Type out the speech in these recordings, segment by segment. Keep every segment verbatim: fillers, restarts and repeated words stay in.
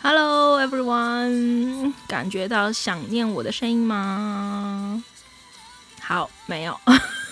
Hello everyone， 感覺到想念我的聲音嗎？好，沒有。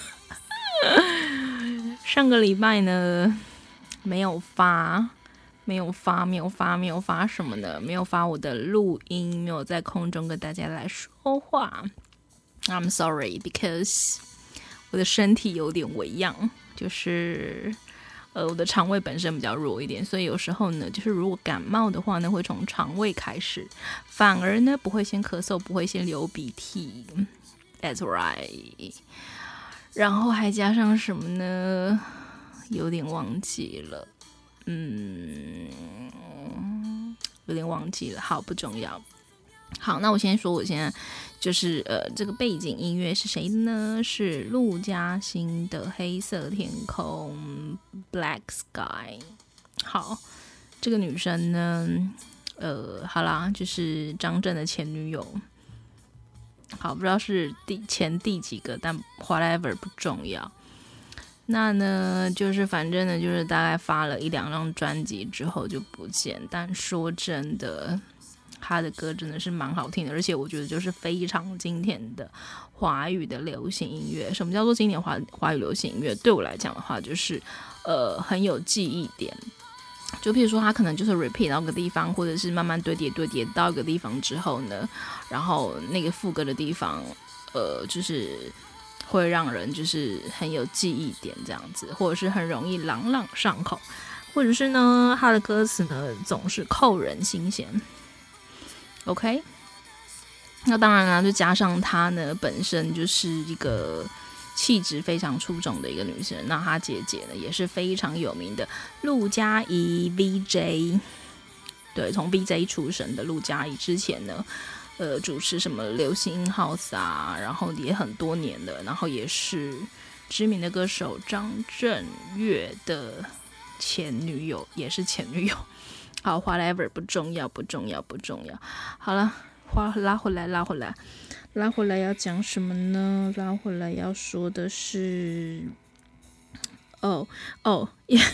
上個禮拜呢，沒有發，沒有發，沒有發，沒有發什麼呢？沒有發我的錄音，沒有在空中跟大家來說話。I'm sorry because 我的身體有點微恙，就是。呃，我的腸胃本身比較弱一點，所以有時候呢，就是如果感冒的話呢，會從腸胃開始，反而呢不會先咳嗽，不會先流鼻涕。That's right。然後還加上什麼呢？有點忘記了，嗯，有點忘記了。好，不重要。好，那我先說，我現在就是呃，這個背景音樂是誰呢？是陸嘉欣的《黑色天空》（Black Sky）。好，這個女生呢，呃，好啦，就是張震的前女友。好，不知道是第前第幾個，但 whatever 不重要。那呢，就是反正呢，就是大概發了一兩張專輯之後就不見。但說真的。他的歌真的是蠻好聽的，而且我覺得就是非常經典的華語的流行音樂。什麼叫做經典華華語流行音樂？對我來講的話，就是呃很有記憶點。就譬如說，他可能就是 repeat 到一個地方，或者是慢慢堆疊堆疊到一個地方之後呢，然後那個副歌的地方，呃，就是會讓人就是很有記憶點這樣子，或者是很容易朗朗上口，或者是呢，他的歌詞呢總是扣人心弦。OK， 那當然啦，就加上她呢本身就是一個氣質非常出眾的一個女生。那她姐姐呢也是非常有名的陸嘉怡 V J， 對，從 V J 出身的陸嘉怡之前呢，呃，主持什麼流行 House 啊，然後也很多年了，然後也是知名的歌手張震岳的前女友，也是前女友。好 ，whatever 不重要，不重要，不重要。好了，拉拉回來，拉回來，拉回來要講什麼呢？拉回來要說的是，哦哦，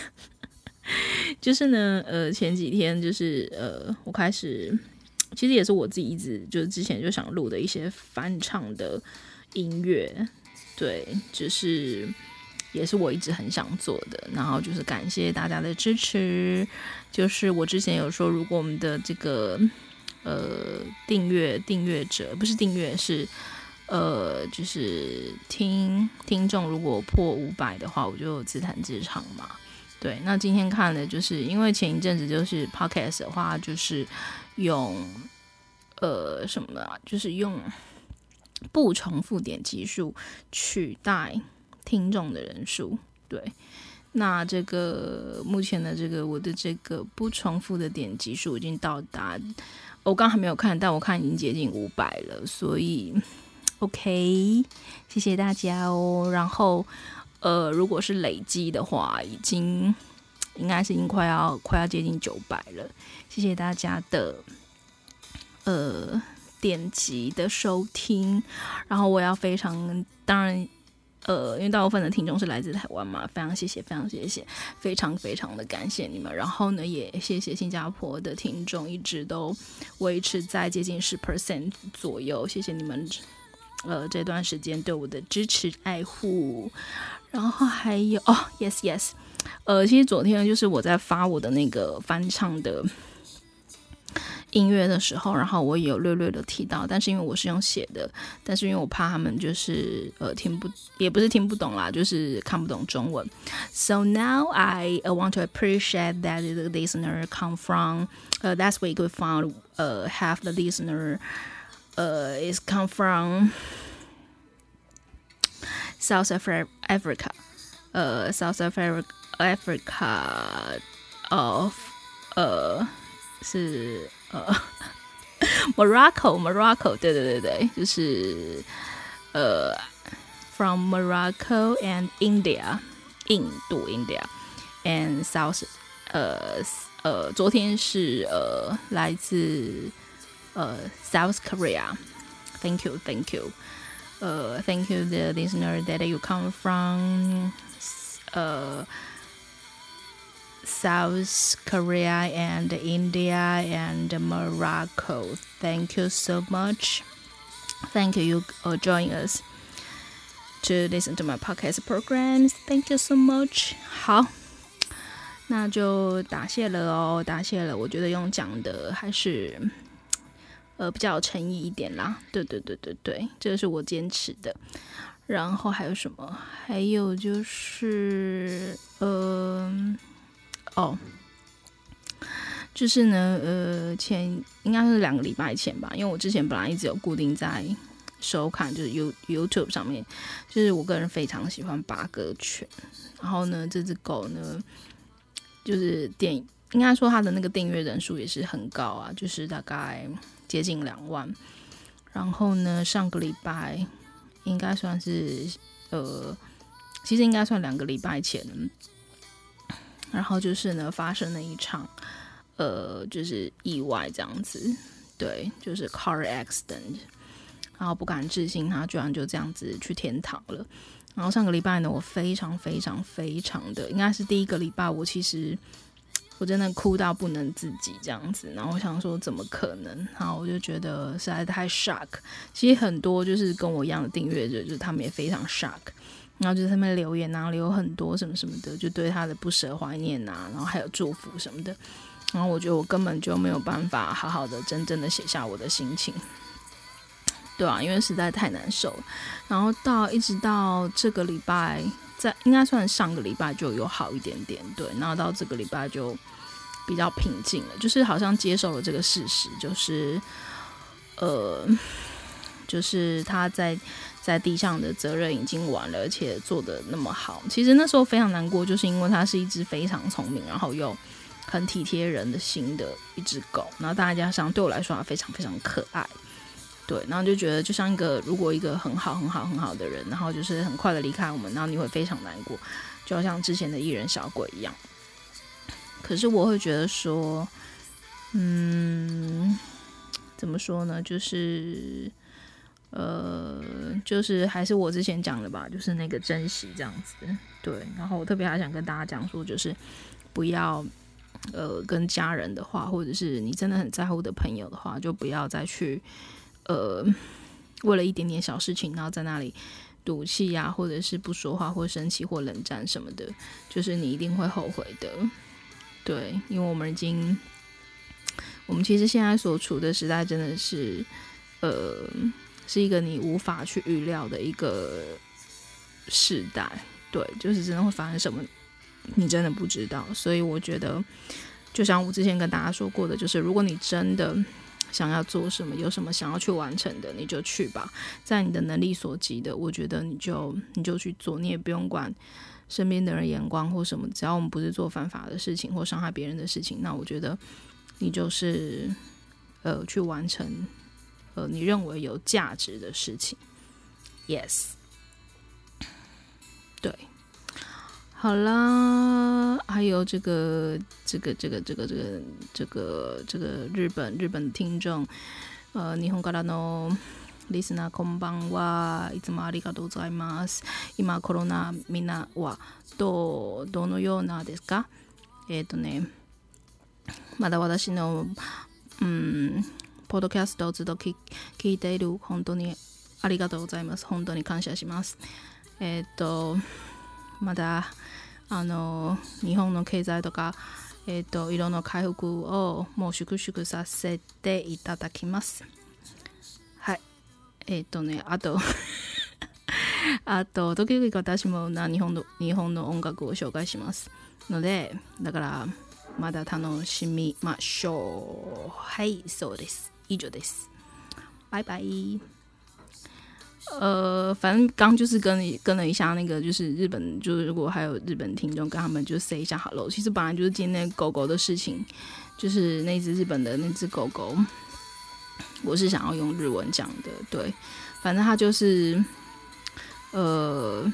就是呢，呃，前幾天就是呃，我開始，其實也是我自己一直就是之前就想錄的一些翻唱的音樂，對，就是。也是我一直很想做的，然後就是感謝大家的支持。就是我之前有說，如果我們的這個呃訂閱訂閱者不是訂閱是呃就是聽聽眾如果破五百的話，我就自彈自唱嘛。對，那今天看的就是因為前一陣子就是 podcast 的話，就是用呃什麼啊，就是用不重複點擊數取代聽眾的人數。對，那這個目前的這個我的這個不重複的點擊數已經到達，我剛還沒有看，但我看已經接近五百了，所以 OK， 謝謝大家哦。然後呃，如果是累積的話，已經應該是已經快要快要接近九百了，謝謝大家的呃點擊的收聽。然後我要非常當然。呃，因為大部分的聽眾是來自台灣嘛，非常謝謝，非常謝謝，非常非常的感謝你們。然後呢，也謝謝新加坡的聽眾一直都維持在接近十 percent 左右，謝謝你們，呃，這段時間對我的支持愛護。然後還有哦 ，yes yes， 呃，其實昨天就是我在發我的那個翻唱的音樂的時候，然後我也有略略的提到，但是因為我是用寫的，但是因為我怕他們就是呃聽不，也不是聽不懂啦，就是看不懂中文。So now I uh, want to appreciate that the listener come from, uh, last week we found uh, half the listener uh, is come from South Africa, uh, South Africa, Africa of, uh, 是呃 Morocco Morocco 對對对对，就是呃 from Morocco and India 印度 India and South 呃呃昨天是呃來自呃 South Korea. Thank you Thank you 呃 Thank you the listener that you come from 呃 South Korea and India and Morocco. Thank you so much. Thank you for joining us to listen to my podcast programs. Thank you so much. 好，那就答謝了哦，答謝了。我覺得用講的還是呃比較有誠意一點啦。對對對對對，這個是我堅持的。然後還有什麼？還有就是呃哦，就是呢呃前應該是兩個禮拜前吧，因為我之前本來一直有固定在收看，就是 YouTube 上面，就是我個人非常喜歡八哥犬。然後呢，這只狗呢，就是電應該說它的那個訂閱人數也是很高啊，就是大概接近兩萬。然後呢，上個禮拜應該算是呃，其實應該算兩個禮拜前，然後就是呢發生了一場呃，就是意外這樣子，對，就是 car accident。然後不敢置信，他居然就這樣子去天堂了。然後上個禮拜呢，我非常非常非常的，應該是第一個禮拜，我其實我真的哭到不能自己這樣子。然後我想說，怎麼可能？然後我就覺得實在太 shock。其實很多就是跟我一樣的訂閱者，就是他們也非常 shock。然後就在他們留言啊，留很多什麼什麼的，就對他的不捨懷念啊，然後還有祝福什麼的。然後我覺得我根本就沒有辦法好好的、真正的寫下我的心情。對啊，因為實在太難受了。然後到一直到這個禮拜，在應該算上個禮拜就有好一點點，對。然後到這個禮拜就比較平靜了，就是好像接受了這個事實，就是呃，就是他在在地上的責任已經完了，而且做得那麼好。其實那時候非常難過，就是因為它是一隻非常聰明，然後又很體貼人的心的一隻狗。然後大家加上對我來說，它非常非常可愛。對，然後就覺得就像一個，如果一個很好很好很好的人，然後就是很快的離開我們，然後你會非常難過，就好像之前的藝人小鬼一樣。可是我會覺得說，嗯，怎麼說呢？就是，呃，就是還是我之前講的吧，就是那個珍惜這樣子。對，然後我特別還想跟大家講說，就是不要。呃，跟家人的話，或者是你真的很在乎的朋友的話，就不要再去呃，為了一點點小事情，然後在那裡賭氣啊，或者是不說話，或生氣，或冷戰什麼的，就是你一定會後悔的。對，因為我們已經，我們其實現在所處的時代真的是，呃，是一個你無法去預料的一個時代。對，就是真的會發生什麼。你真的不知道，所以我覺得就像我之前跟大家說過的，就是如果你真的想要做什麼，有什麼想要去完成的，你就去吧，在你的能力所及的，我覺得你就你就去做，你也不用管身邊的人眼光或什麼，只要我們不是做犯法的事情或傷害別人的事情，那我覺得你就是呃去完成呃你認為有價值的事情。 Yes， 對，好啦，還有這個這個這個這個這個這個這個日本日本的聽眾，呃，日本からのリスナーこんばんは。いつもありがとうございます。今コロナみんなはどうどのようなですか？えっとね、まだ私のうんポッドキャストをずっと聞いている本当にありがとうございます。本当に感謝します。えっとまだあの日本の経済とか、えー、と色の回復をもう粛々させていただきます。はい。えっ、ー、とね、あとあと時々私もな日本の日本の音楽を紹介しますので、だからまだ楽しみましょう。はい、そうです。以上です。拜拜。呃，反正剛就是跟跟了一下那個，就是日本，就是如果還有日本聽眾，跟他們就 say 一下 hello。其實本來就是今天狗狗的事情，就是那只日本的那只狗狗，我是想要用日文講的。對，反正它就是，呃，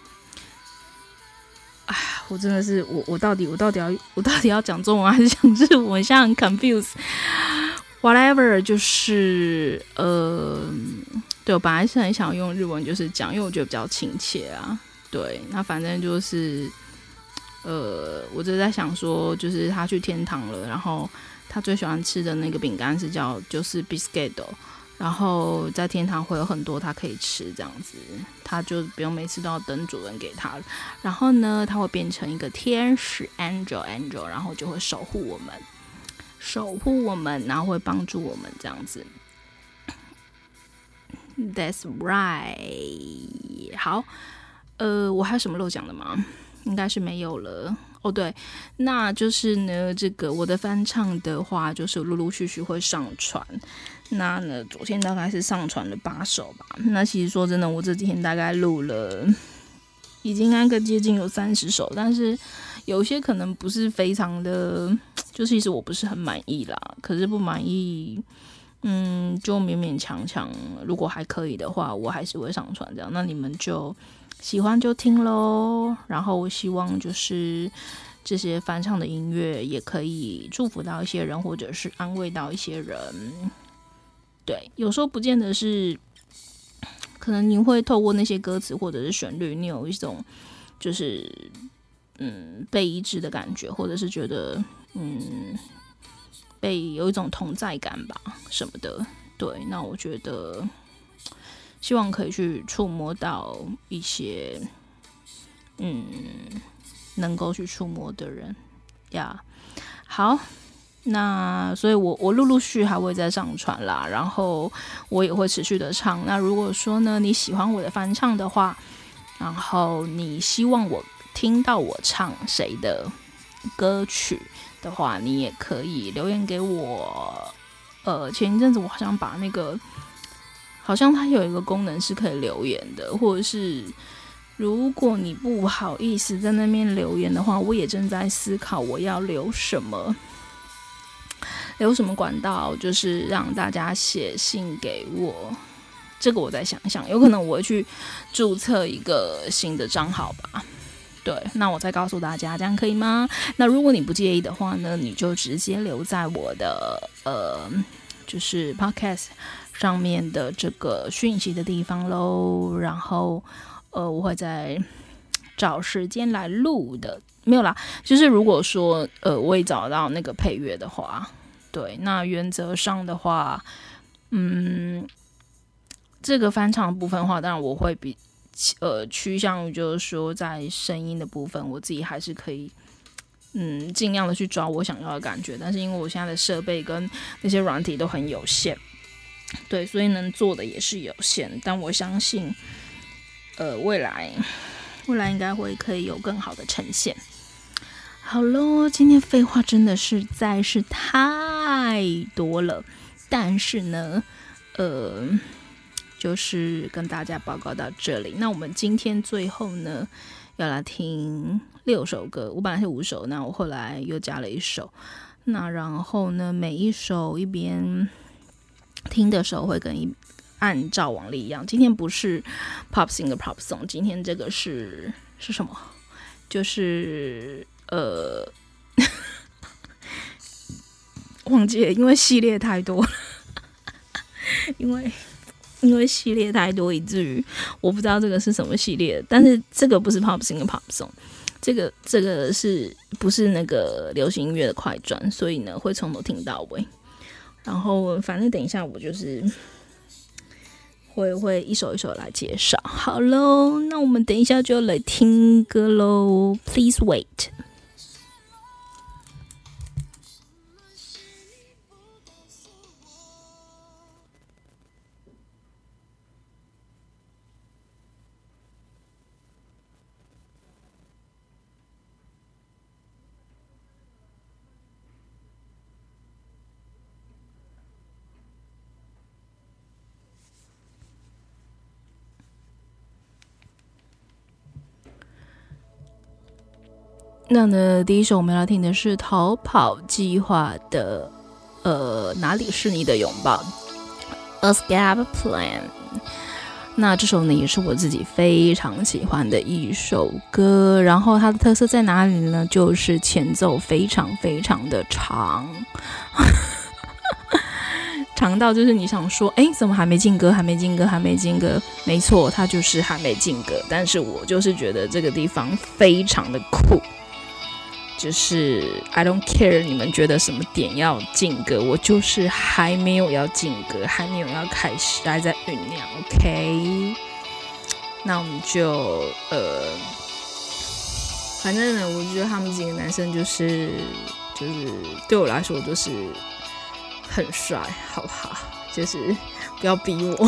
哎，我真的是我我到底我到底要我到底要講中文還是講日文？我現在很 confused。Whatever， 就是呃。對，我本來是很想用日文，就是講，因為我覺得比較親切啊。對，那反正就是， 呃，我就在想說，就是他去天堂了，然後他最喜歡吃的那個餅乾是叫就是 biscuito， 然後在天堂會有很多他可以吃，這樣子他就不用每次都要等主人給他。然後呢，他會變成一個天使 angel angel， 然後就會守護我們，守護我們，然後會幫助我們這樣子。That's right。好，呃，我還有什麼漏講的嗎？應該是沒有了哦。對，那就是呢，這個我的翻唱的話，就是陸陸續續會上傳。那呢，昨天大概是上傳了八首吧。那其實說真的，我這幾天大概錄了，已經那個接近有三十首，但是有些可能不是非常的，就其實我不是很滿意啦。可是不滿意，嗯，就勉勉強強。如果還可以的話，我還是會上傳這樣。那你們就喜歡就聽咯，然後我希望就是這些翻唱的音樂也可以祝福到一些人，或者是安慰到一些人。對，有時候不見得是，可能你會透過那些歌詞或者是旋律，你有一種就是嗯被醫治的感覺，或者是覺得嗯被有一種同在感吧什麼的。對，那我覺得希望可以去觸摸到一些，嗯，能夠去觸摸的人呀。Yeah. 好，那所以我我陸陸續續還會再上傳啦，然後我也會持續的唱。那如果說呢，你喜歡我的翻唱的話，然後你希望我聽到我唱誰的歌曲的話，你也可以留言給我。呃，前一陣子我好像把那個。好像它有一個功能是可以留言的，或者是如果你不好意思在那邊留言的話，我也正在思考我要留什麼，留什麼管道，就是讓大家寫信給我。這個我再想一想，有可能我會去註冊一個新的賬號吧。對，那我再告訴大家，這樣可以嗎？那如果你不介意的話呢，你就直接留在我的呃，就是 podcast上面的這個訊息的地方咯，然後呃，我會再找時間來錄的。沒有啦，就是如果說呃，我也找到那個配樂的話，對，那原則上的話，嗯，這個翻唱的部分的話，當然我會比呃趨向於就是說，在聲音的部分，我自己還是可以。嗯，盡量的去抓我想要的感覺，但是因為我現在的設備跟那些軟體都很有限，對，所以能做的也是有限。但我相信，呃，未來未來應該會可以有更好的呈現。好咯，今天廢話真的實在是太多了，但是呢，呃，就是跟大家報告到這裡。那我們今天最後呢，要來聽六首歌，我本來是五首，那我後來又加了一首。那然後呢，每一首一邊聽的時候會跟一按照往例一樣。今天不是 pop singer pop song， 今天這個是是什麼？就是呃，忘記了，因為系列太多了，因為。因為系列太多，以至於我不知道這個是什麼系列。但是這個不是 pop singer pop song， 這個這個是不是那個流行音樂的快轉？所以呢，會從頭聽到尾。然後反正等一下我就是會會一首一首來介紹。好嘍，那我們等一下就來聽歌嘍。Please wait。那呢，第一首我們要聽的是逃跑計劃的呃哪裡是你的擁抱 Escape Plan。那這首呢也是我自己非常喜歡的一首歌，然後它的特色在哪裡呢？就是前奏非常非常的長長到就是你想說，哎，怎麼還沒進歌還沒進歌還沒進歌？沒錯，它就是還沒進歌，但是我就是覺得這個地方非常的酷。 就是 I don't care 你們覺得什麼點要進歌，我就是還沒有要進歌，還沒有要開始，還在醞釀。OK， 那我們就呃，反正呢，我覺得他們幾個男生就是就是對我來說就是很帥，好不好？就是不要逼我。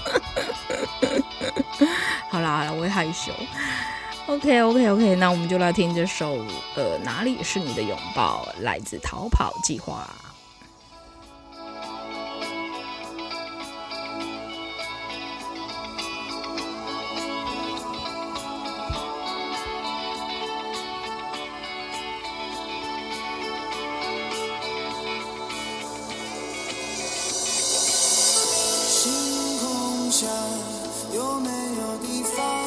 好啦好啦，我會害羞。OK OK OK， 那我們就來聽這首呃哪裡是你的擁抱，來自逃跑計劃。 星空下有没有地方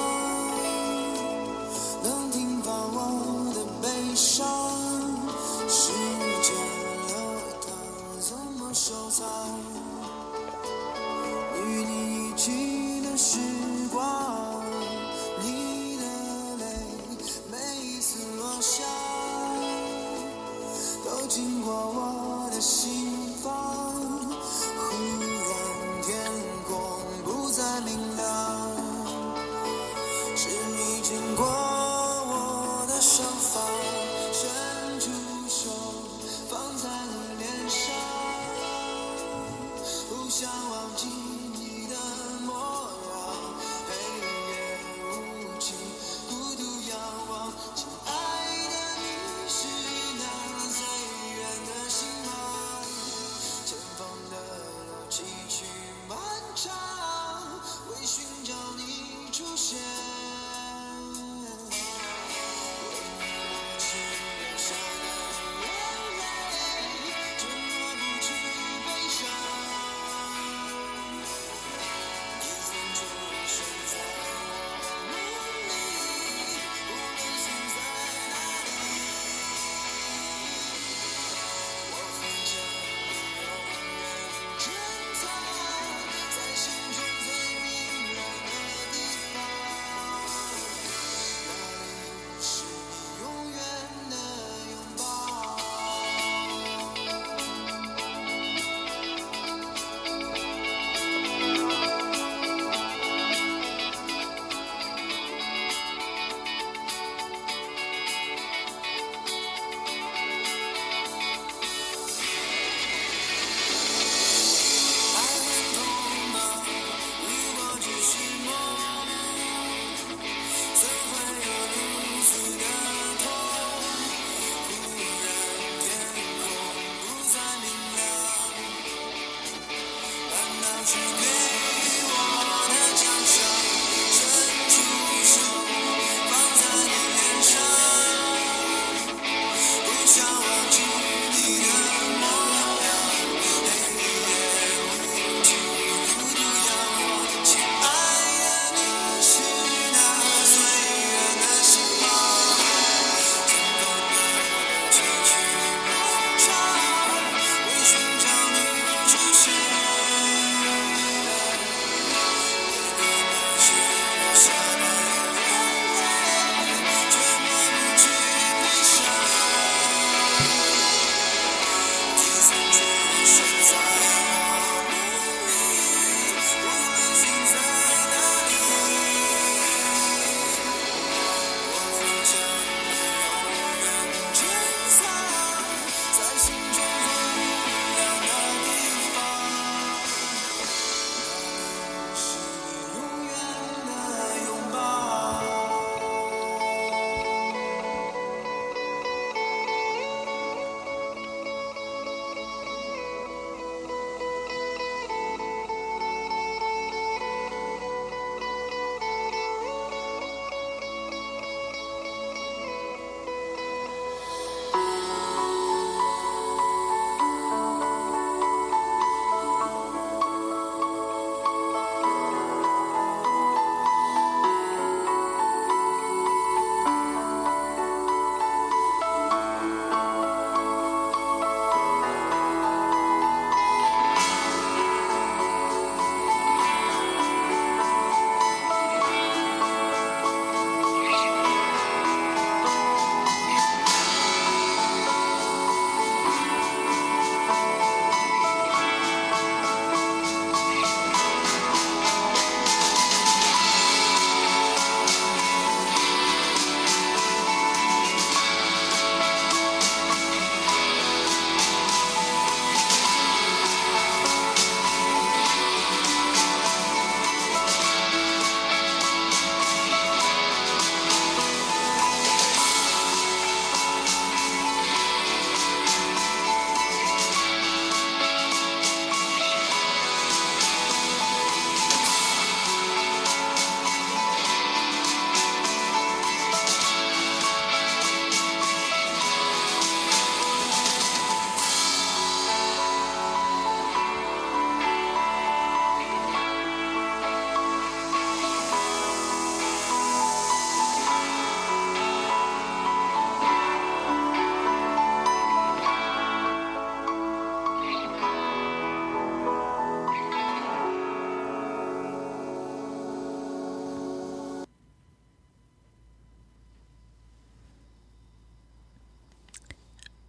能停放我的悲傷？時間流淌，怎麼收藏？與你一起的時光，你的淚每一次落下，都經過我的心房。忽然天空不再明亮，是你經過我的手法，伸出手放在你臉上，不想忘記你的模樣，黑夜無情，孤獨仰望，親愛的你是那最遠的星芒，前方的路崎嶇漫長，為尋找你出現。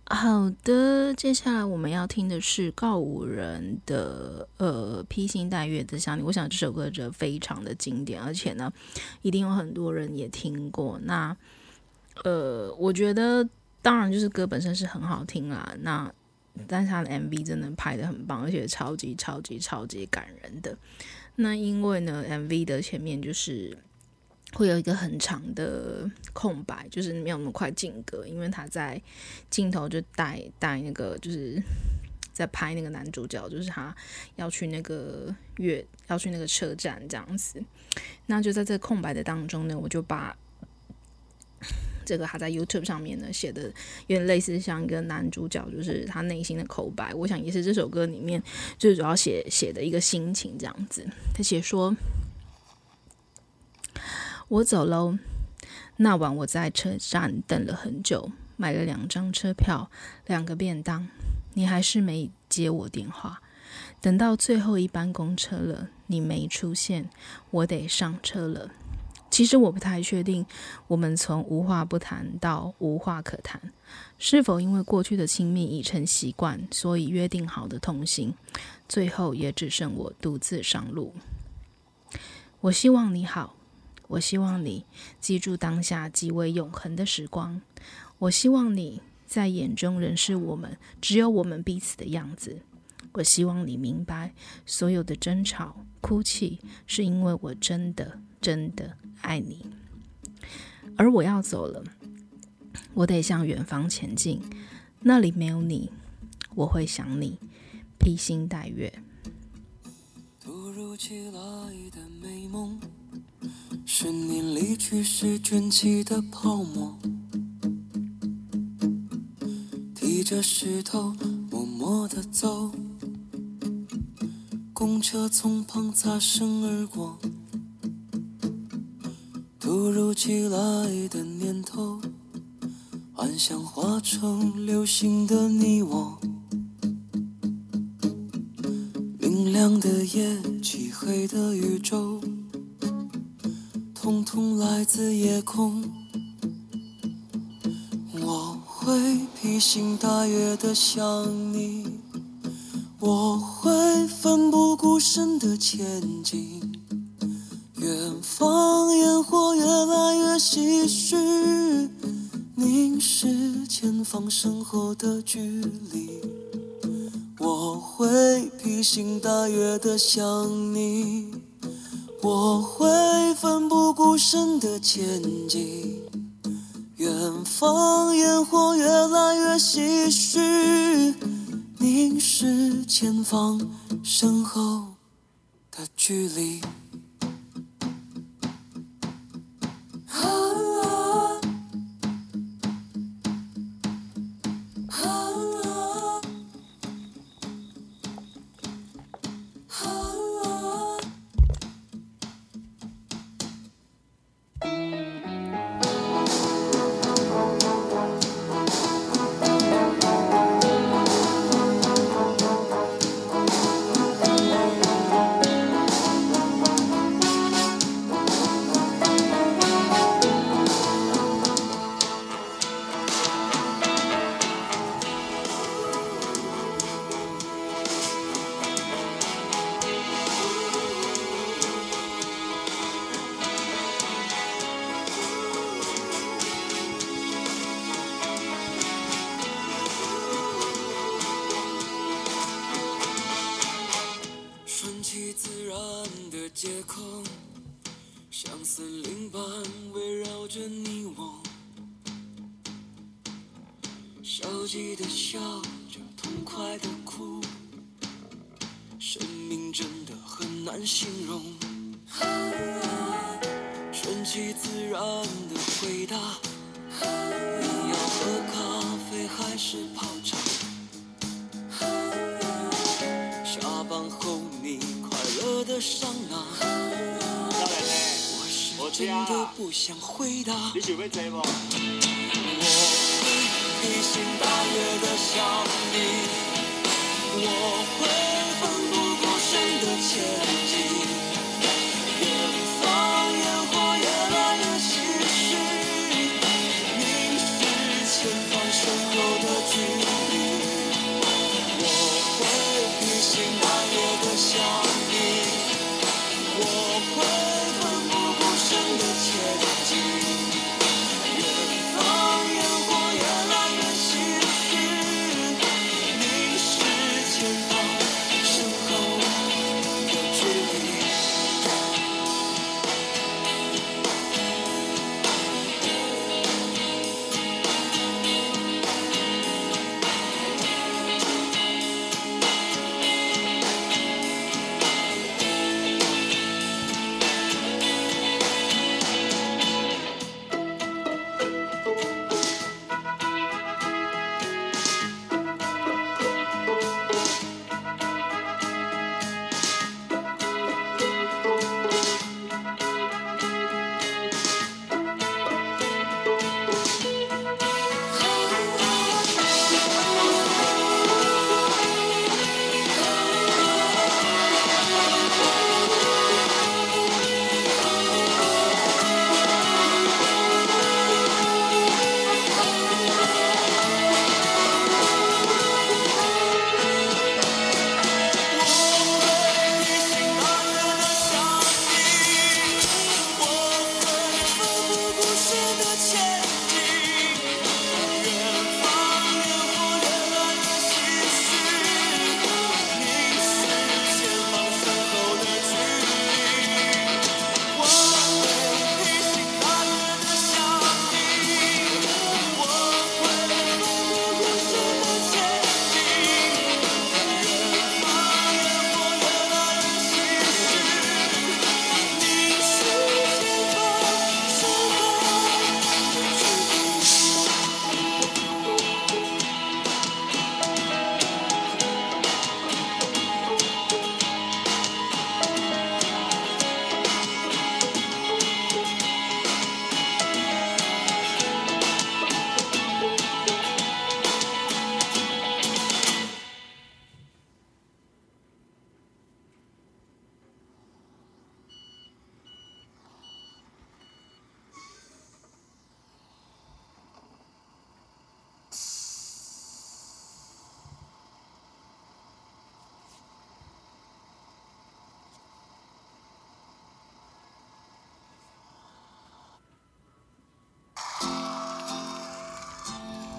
好的，接下來我們要聽的是告五人的呃披星戴月的想你。我想這首歌就非常的經典，而且呢，一定有很多人也聽過。那呃，我覺得當然就是歌本身是很好聽啦，那但是他的 M V 真的拍得很棒，而且超級超級超級感人的。那因為呢 M V 的前面就是會有一個很長的空白，就是沒有那麼快進歌，因為他在鏡頭就帶帶那個就是在拍那個男主角，就是他要去那個月要去那個車站這樣子。那就在這個空白的當中呢，我就把這個他在 YouTube 上面呢寫的有點類似像一個男主角，就是他內心的口白，我想也是這首歌裡面最主要寫寫的一個心情這樣子。他寫說，我走嘍，那晚我在車站等了很久，買了兩張車票，兩個便當，你還是沒接我電話。等到最後一班公車了，你沒出現，我得上車了。其實我不太確定，我們從無話不談到無話可談，是否因為過去的親密已成習慣，所以約定好的同行，最後也只剩我獨自上路。我希望你好，我希望你記住當下極為永恆的時光，我希望你在眼中仍是我們只有我們彼此的樣子。我希望你明白，所有的爭吵、哭泣，是因為我真的真的愛你。而我要走了，我得向遠方前進，那裡沒有你，我會想你。披星戴月。 突如其來的美夢，十年離去時捲起的泡沫，提着石頭默默地走，公車從旁擦身而過，突如其來的念頭，幻想化成流星的你我，明亮的夜，漆黑的宇宙，統統來自夜空。我會披星戴月的想你，我會奮不顧身的前進，遠方煙火越來越唏噓，凝視前方身後的距離。我會披星戴月的想你，我會奮不顧身的前進，遠方煙火越來越唏噓，凝視前方身後的距離。街口像森林般圍繞着你我，消極的笑着，痛快的哭，生命真的很難形容。順其自然的回答，你要喝咖啡還是泡茶？下班後你快樂的桑拿，我是真的不想回答。你想要坐嗎？我會披星戴月的想你，我會奮不顧身的前進，遠方煙火越來越唏噓，凝視前方身後的距離。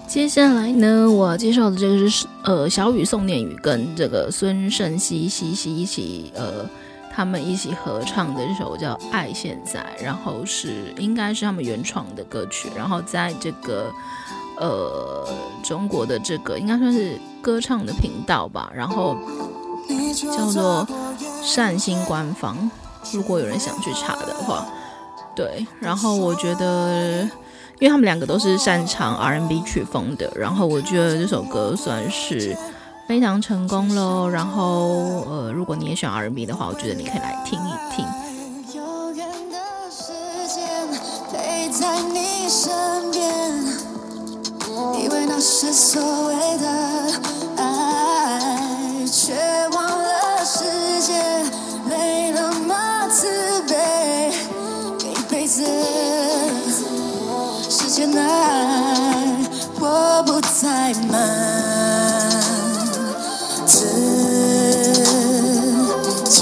接下來呢，我要介紹的這個是呃小雨宋念宇跟這個孫盛希西西一起呃他們一起合唱的這首叫《愛現在》，然後是應該是他們原創的歌曲，然後在這個呃中國的這個應該算是歌唱的頻道吧，然後叫做善心官方，如果有人想去查的話，對，然後我覺得因為他們兩個都是擅長 R and B 曲風的，然後我覺得這首歌算是非常成功咯。然後呃，如果你也喜歡 R and B 的話，我覺得你可以來聽一聽。 有緣的時間陪在你身邊，以為那是所謂的愛，卻忘了世界沒那麼慈悲，給一輩子時間愛，我不再瞞自己，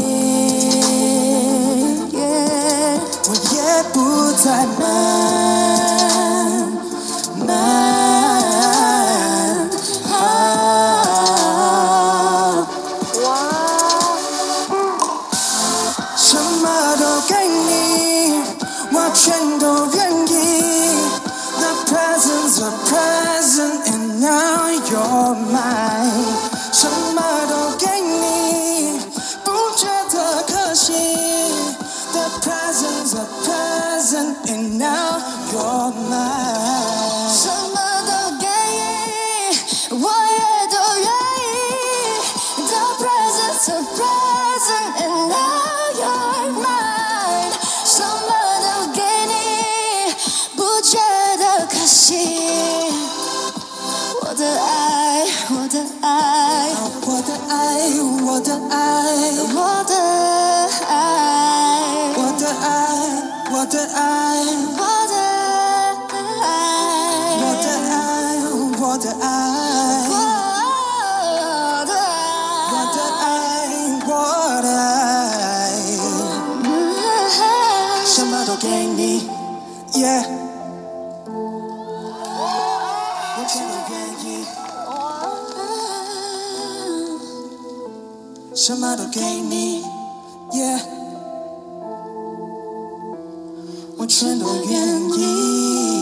我也不再瞞瞞什麼都給你，我全都願意。The present's a present and now you're mine。什麼都給你，不覺得可惜。The present's a present and now you're mine。什麼都給你，我也都願意。The present's a present and now you're mine。什麼都給你，不覺得可惜。我的愛，我的愛，我的愛，我的愛，我的愛，我的愛，我的愛，我的愛，我的愛，我的愛，我的愛，我的愛，我的愛，什麼都給你 ，Yeah。我全都願意，什麼都給你 ，Yeah， 我全都願意。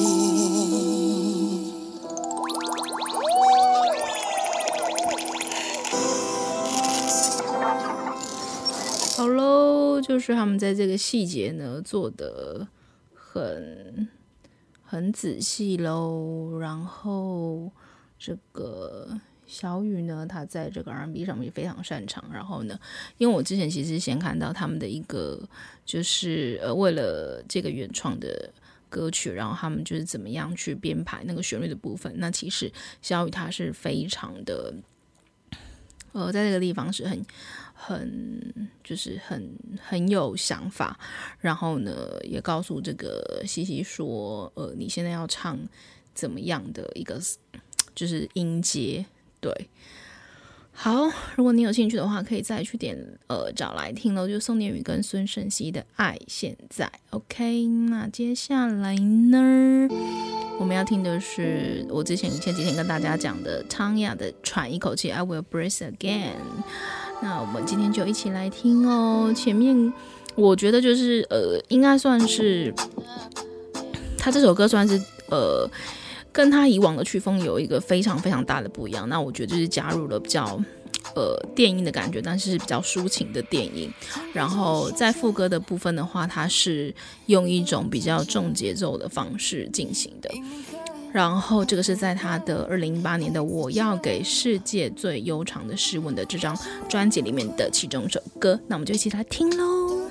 好嘍，就是他們在這個細節呢做得很。很仔細嘍，然後這個小雨呢，他在這個 R and B 上面也非常擅長。然後呢，因為我之前其實先看到他們的一個，就是呃，為了這個原創的歌曲，然後他們就是怎麼樣去編排那個旋律的部分。那其實小雨他是非常的，呃，在這個地方是很。很就是很很有想法，然後呢，也告訴這個西西說，呃，你現在要唱怎麼樣的一個就是音階，對。好，如果你有興趣的話，可以再去點呃找來聽咯，就宋念宇跟孫盛希的《愛現在》。OK， 那接下來呢，我們要聽的是我之前前幾天跟大家講的湯雅的《喘一口氣》，I Will Breathe Again。那我們今天就一起來聽哦。前面我覺得就是呃，應該算是他這首歌算是呃，跟他以往的曲風有一個非常非常大的不一樣。那我覺得就是加入了比較呃電音的感覺，但是比較抒情的電音。然後在副歌的部分的話，它是用一種比較重節奏的方式進行的。然後這個是在他的二零一八年的《我要給世界最悠長的詩文》的這張專輯裡面的其中一首歌，那我們就一起來聽嘍。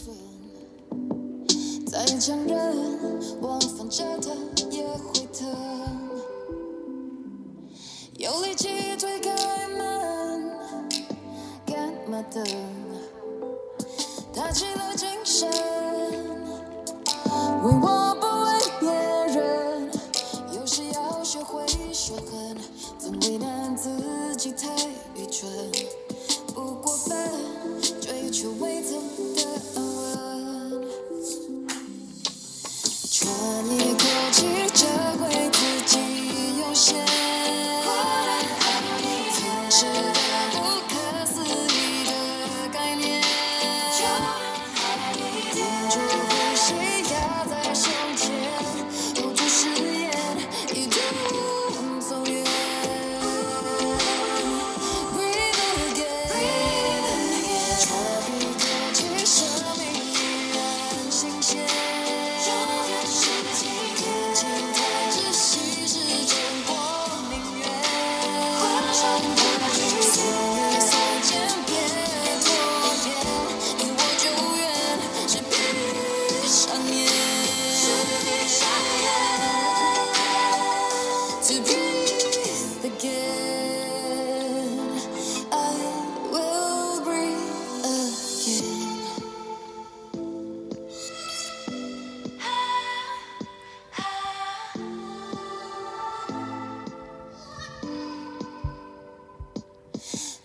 再強忍，我反着它也會疼，有力氣推開門，幹嘛等？打起了精神，為我不為別人。有時要學會說狠，總為難自己太愚蠢，不過分，追求未曾的安穩。喘一口氣，這回自己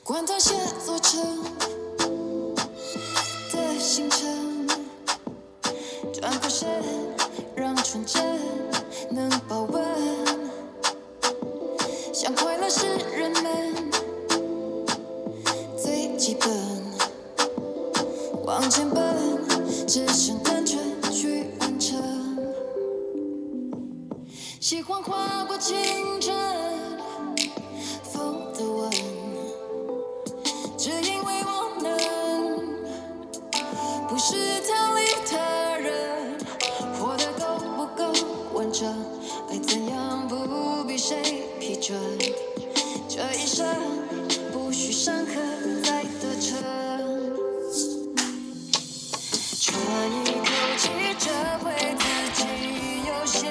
管他寫作成的行程，轉過身，讓純真能保溫。想快樂是人們最基本，往前奔，只想單純去完成。喜歡劃過清晨風的吻，只因為我能，不是逃離他人，活得夠不夠完整，愛怎樣不必誰批准，這一生不需上課再得逞，喘一口氣，這回自己有限。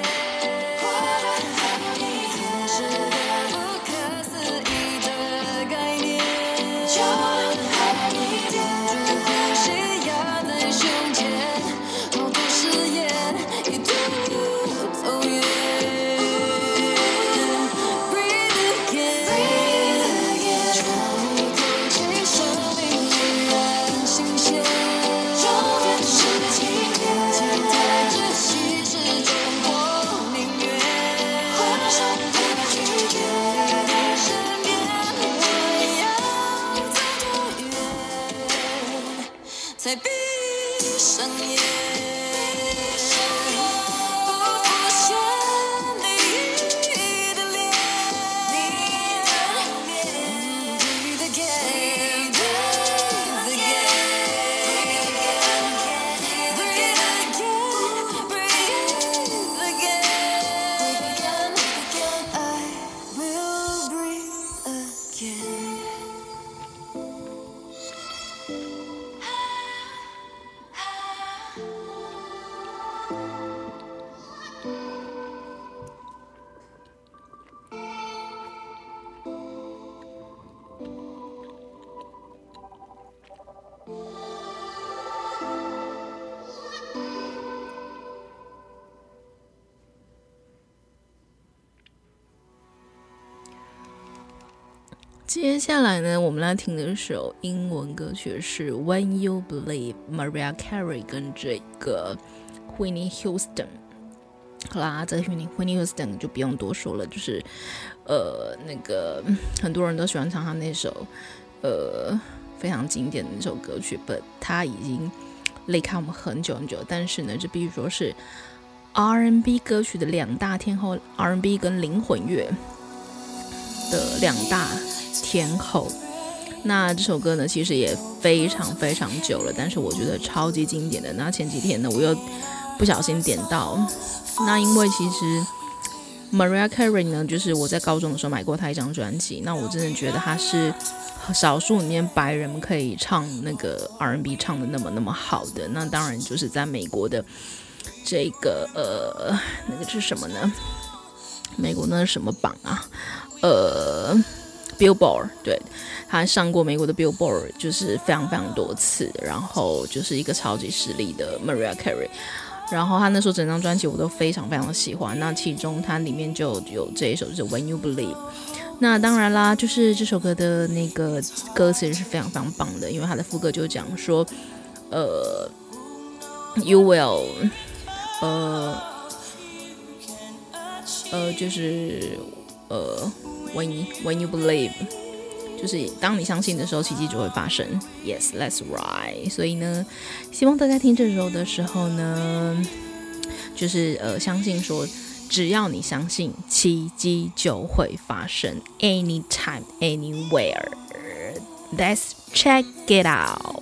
才閉上眼，不浮現你的臉。Breathe again, breathe again, breathe again, I will breathe again. 接下來呢，我們來聽的首英文歌曲是 When You Believe Mariah Carey 跟這個 Whitney Houston。好啦，這個 Whitney Houston 就不用多說了，就是呃那個很多人都喜歡唱他那首呃非常經典的那首歌曲 ，but 他已經離開我們很久很久。但是呢，這必須說是 R and B 歌曲的兩大天后 ，R and B 跟靈魂樂的兩大天后。那這首歌呢，其實也非常非常久了，但是我覺得超級經典的。那前幾天呢，我又不小心點到，那因為其實 Mariah Carey 呢，就是我在高中的時候買過她一張專輯，那我真的覺得她是少數裡面白人可以唱那個 R and B 唱的那麼那麼好的。那當然就是在美國的這個呃那個是什麼呢？美國那是什麼榜啊？呃 Billboard， 對，他上過美國的 Billboard 就是非常非常多次，然後就是一個超級實力的 Mariah Carey。然後他那時候整張專輯我都非常非常的喜歡，那其中它裡面就有這一首就是 When You Believe。那當然啦，就是這首歌的那個歌詞是非常非常棒的，因為它的副歌就講說，呃 You will， 呃呃就是呃 when you, when you believe， 就是當你相信的時候，奇蹟就會發生。Yes, that's right。所以呢，希望大家聽這首的時候呢，就是呃相信說，只要你相信，奇蹟就會發生。Anytime, anywhere. Let's check it out.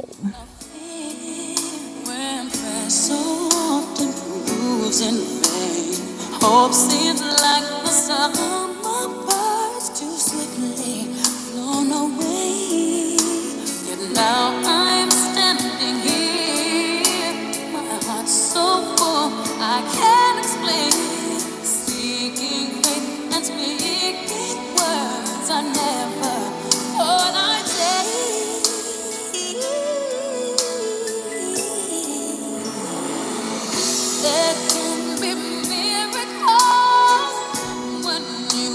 When prayer so often proves in vain, hope seems like the summer birds too swiftly blown away. Yet now I'm standing here, my heart's so full I can't explain. Seeking faith and speaking words I never thought I'd say. There can be miracles when you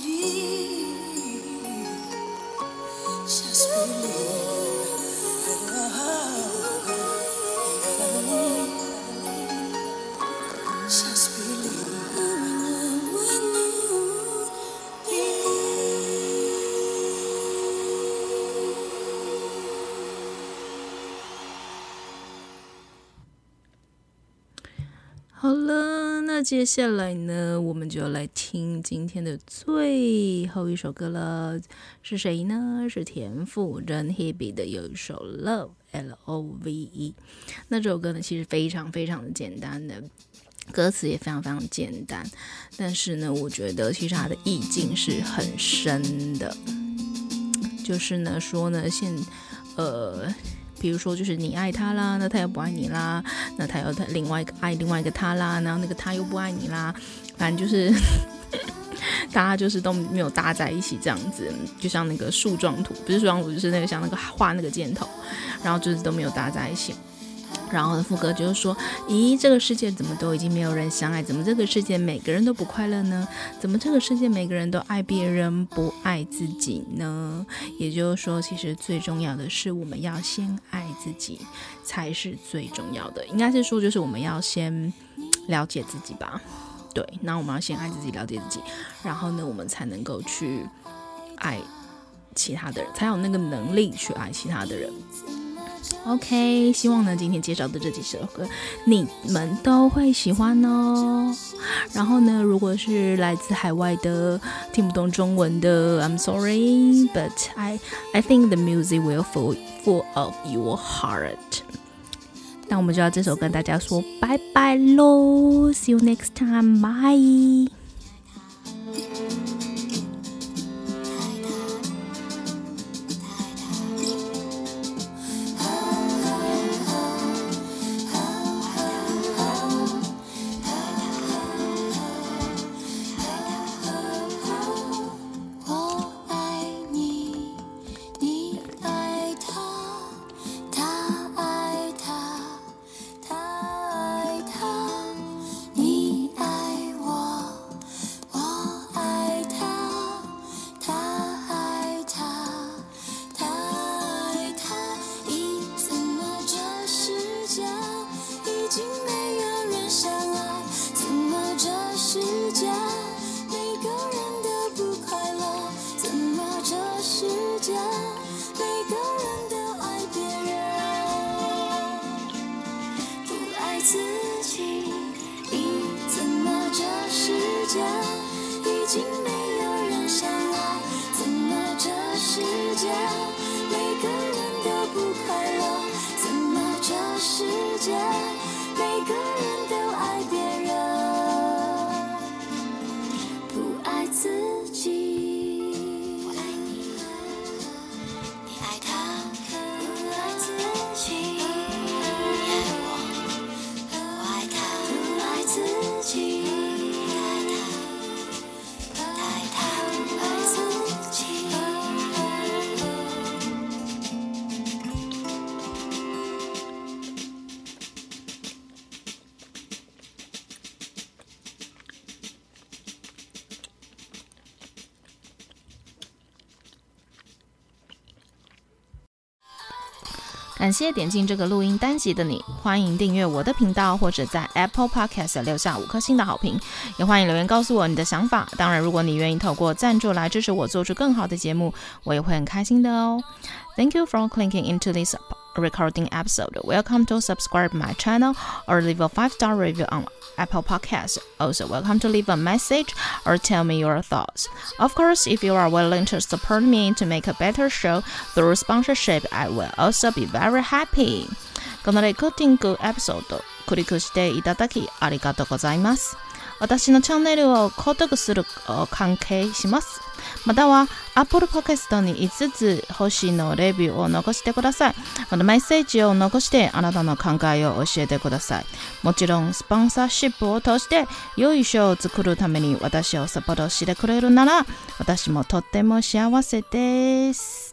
Just believe. Just believe. 好了，那接下來呢，我們就來聽今天的最後一首歌了。是誰呢？是田馥甄 Hebe 的有一首 Love L O V E。那這首歌呢，其實非常非常的簡單的，歌詞也非常非常簡單，但是呢，我覺得其實它的意境是很深的。就是呢，說呢，現呃。比如說，就是你愛他啦，那他又不愛你啦，那他又另外一個愛另外一個他啦，然後那個他又不愛你啦，反正就是大家就是都沒有搭在一起這樣子，就像那個樹狀圖，不是樹狀圖，就是那個像那個畫那個箭頭，然後就是都沒有搭在一起。然後副歌就是說，咦，這個世界怎麼都已經沒有人相愛？怎麼這個世界每個人都不快樂呢？怎麼這個世界每個人都愛別人不愛自己呢？也就是說，其實最重要的是我們要先愛自己才是最重要的。應該是說，就是我們要先了解自己吧。對，那我們要先愛自己，了解自己，然後呢，我們才能夠去愛其他的人，才有那個能力去愛其他的人。OK， 希望呢今天介紹的這幾首歌你們都會喜歡哦。然後呢，如果是來自海外的聽不懂中文的 I'm sorry, but I, I think the music will full, full of your heart。 那我們就要這首跟大家說拜拜咯， See you next time, bye。感謝點進這個錄音單集的你，歡迎訂閱我的頻道，或者在 Apple Podcast 留下五顆星的好評，也歡迎留言告訴我你的想法。當然，如果你願意透過贊助來支持我做出更好的節目，我也會很開心的哦。Thank you for clicking into this recording episode. Welcome to subscribe my channel or leave a five-star review on Apple Podcasts. Also, welcome to leave a message or tell me your thoughts. Of course, if you are willing to support me to make a better show through sponsorship, I will also be very happy. このレコーディングエピソード、クリックしていただきありがとうございます。私のチャンネルを購読する関係します。または Apple Podcast にいつつ星のレビューを残してください。またメッセージを残してあなたの考えを教えてください。もちろんスポンサーシップを通して良いショーを作るために私をサポートしてくれるなら私もとっても幸せです。